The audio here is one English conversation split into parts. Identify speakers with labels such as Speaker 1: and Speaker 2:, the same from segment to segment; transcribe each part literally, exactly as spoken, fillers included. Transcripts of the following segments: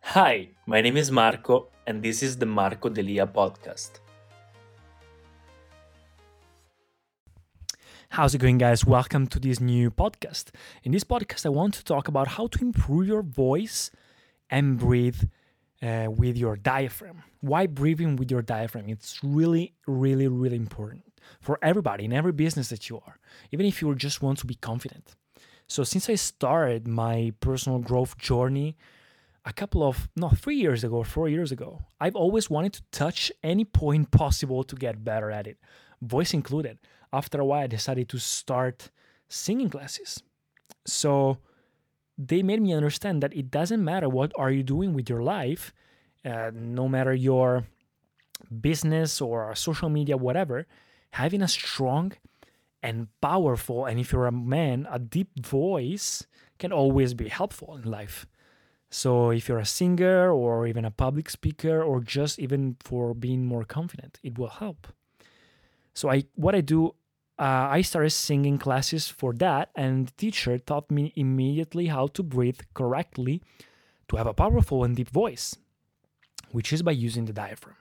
Speaker 1: Hi, my name is Marco, and this is the Marco Delia podcast.
Speaker 2: How's it going, guys? Welcome to this new podcast. In this podcast, I want to talk about how to improve your voice and breathe uh, with your diaphragm. Why breathing with your diaphragm? It's really, really, really important for everybody in every business that you are, even if you just want to be confident. So, since I started my personal growth journey a couple of, no, three years ago, four years ago, I've always wanted to touch any point possible to get better at it, voice included. After a while, I decided to start singing classes. So they made me understand that it doesn't matter what are you doing with your life, uh, no matter your business or social media, whatever, having a strong and powerful, and if you're a man, a deep voice can always be helpful in life. So if you're a singer or even a public speaker or just even for being more confident, it will help. So I what I do, uh, I started singing classes for that, and the teacher taught me immediately how to breathe correctly to have a powerful and deep voice, which is by using the diaphragm.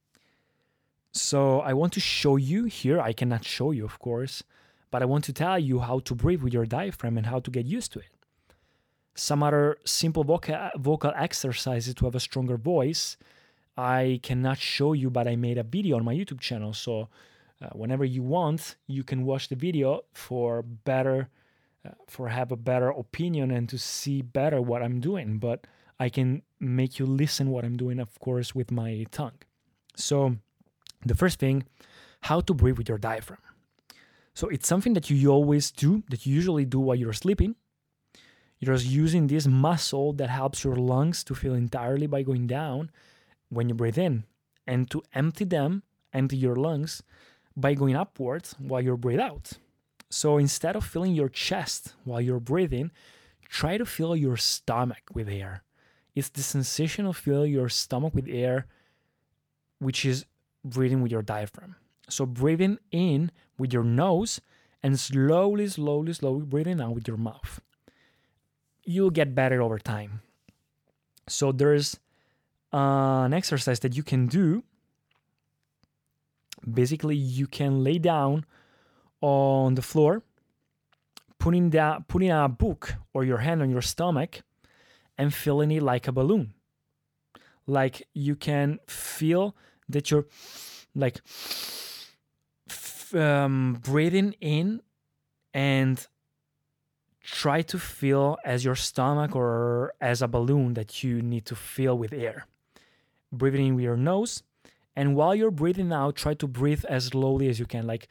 Speaker 2: So I want to show you here. I cannot show you, of course, but I want to tell you how to breathe with your diaphragm and how to get used to it. Some other simple vocal, vocal exercises to have a stronger voice I cannot show you, but I made a video on my YouTube channel. So uh, whenever you want, you can watch the video for better, uh, for have a better opinion and to see better what I'm doing. But I can make you listen what I'm doing, of course, with my tongue. So the first thing, how to breathe with your diaphragm. So it's something that you always do, that you usually do while you're sleeping. You're just using this muscle that helps your lungs to fill entirely by going down when you breathe in, and to empty them, empty your lungs by going upwards while you breathe out. So instead of filling your chest while you're breathing, try to fill your stomach with air. It's the sensation of filling your stomach with air, which is breathing with your diaphragm. So breathing in with your nose and slowly, slowly, slowly breathing out with your mouth. You'll get better over time. So there's uh, an exercise that you can do. Basically, you can lay down on the floor, putting down, putting a book or your hand on your stomach, and filling it like a balloon. Like you can feel that you're like f- um, breathing in and try to feel as your stomach or as a balloon that you need to fill with air. Breathing in with your nose, and while you're breathing out, try to breathe as slowly as you can. Like,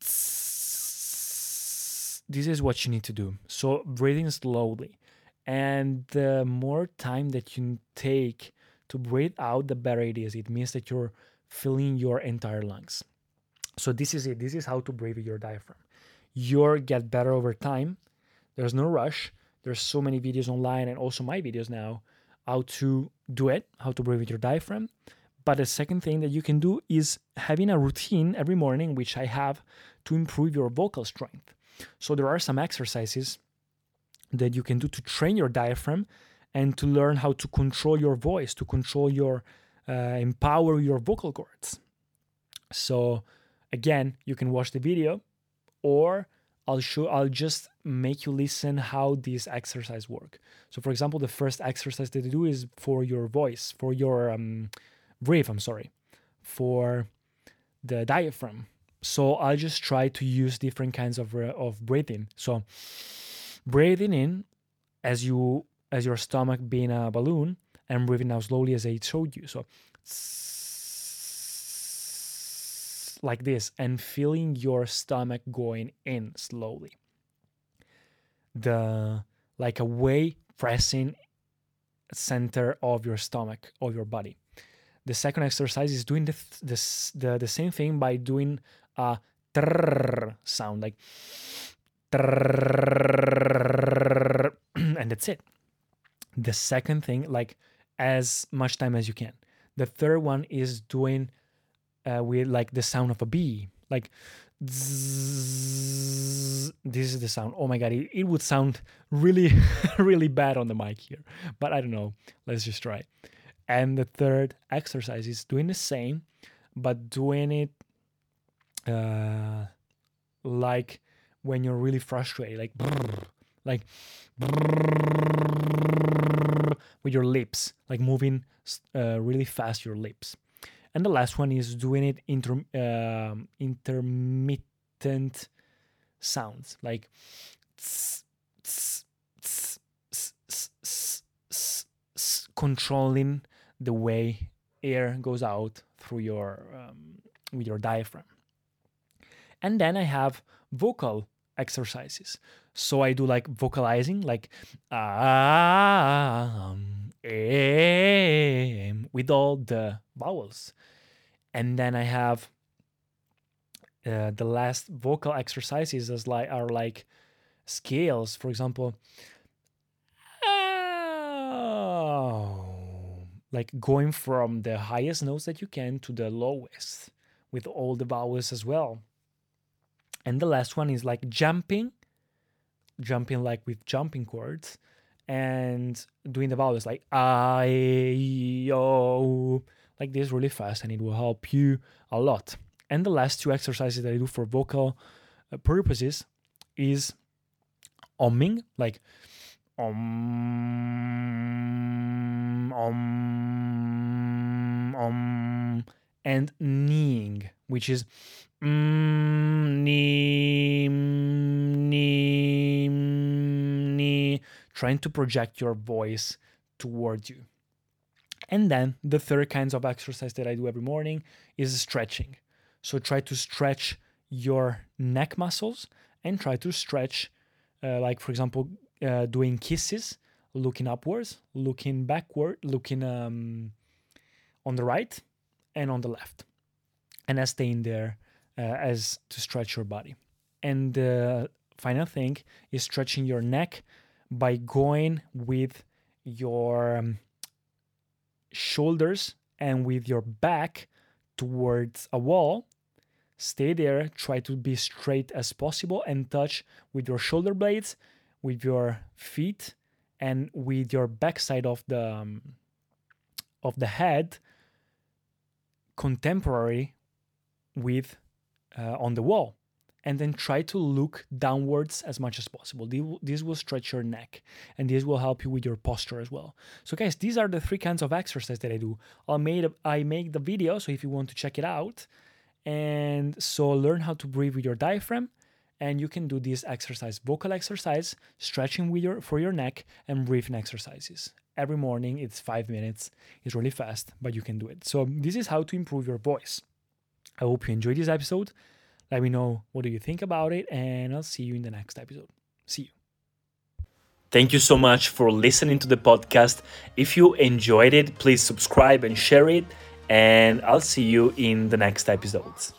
Speaker 2: this is what you need to do. So, breathing slowly. And the more time that you take to breathe out, the better it is. It means that you're filling your entire lungs. So, this is it. This is how to breathe with your diaphragm. You'll get better over time. There's no rush. There's so many videos online and also my videos now how to do it, how to breathe with your diaphragm. But the second thing that you can do is having a routine every morning, which I have, to improve your vocal strength. So there are some exercises that you can do to train your diaphragm and to learn how to control your voice, to control your, uh, empower your vocal cords. So again, you can watch the video, or I'll show I'll just make you listen how these exercises work. So for example, the first exercise that you do is for your voice, for your um, breathe, I'm sorry, for the diaphragm. So I'll just try to use different kinds of uh, of breathing. So breathing in as you as your stomach being a balloon, and breathing out slowly as I showed you. So like this, and feeling your stomach going in slowly. The like a way pressing center of your stomach, of your body. The second exercise is doing the this the, the same thing by doing a trrr sound, like trrr, and that's it. The second thing, like as much time as you can. The third one is doing uh, with like the sound of a bee, like Zzz, this is the sound. Oh my god, it, it would sound really, really bad on the mic here. But I don't know. Let's just try. And the third exercise is doing the same, but doing it uh, like when you're really frustrated, like brrr, like brrr, with your lips, like moving uh, really fast your lips. And the last one is doing it inter, um, intermittent sounds, like tss, tss, tss, tss, tss, tss, tss, tss, controlling the way air goes out through your um, with your diaphragm. And then I have vocal exercises. So I do like vocalizing, like um, em, with all the vowels. And then I have uh, the last vocal exercises as like are like scales. For example, like going from the highest notes that you can to the lowest with all the vowels as well. And the last one is like jumping, jumping like with jumping chords and doing the vowels like I, O, like this really fast, and it will help you a lot. And the last two exercises that I do for vocal uh, purposes is umming, like om, om, om, and kneeing, which is mm, knee, knee, knee, trying to project your voice towards you. And then the third kinds of exercise that I do every morning is stretching. So try to stretch your neck muscles and try to stretch, uh, like for example, uh, doing kisses, looking upwards, looking backward, looking um, on the right and on the left, and as staying there uh, as to stretch your body. And the final thing is stretching your neck by going with your um, shoulders and with your back towards a wall. Stay there, try to be straight as possible and touch with your shoulder blades, with your feet, and with your backside of the um, of the head contemporary with uh, on the wall. And then try to look downwards as much as possible. This will stretch your neck, and this will help you with your posture as well. So guys, these are the three kinds of exercise that I do. I'll made I make the video, so if you want to check it out. And so learn how to breathe with your diaphragm, and you can do this exercise, vocal exercise, stretching with your for your neck, and breathing exercises. Every morning, it's five minutes. It's really fast, but you can do it. So this is how to improve your voice. I hope you enjoyed this episode. Let me know what do you think about it, and I'll see you in the next episode. See you.
Speaker 1: Thank you so much for listening to the podcast. If you enjoyed it, please subscribe and share it, and I'll see you in the next episodes.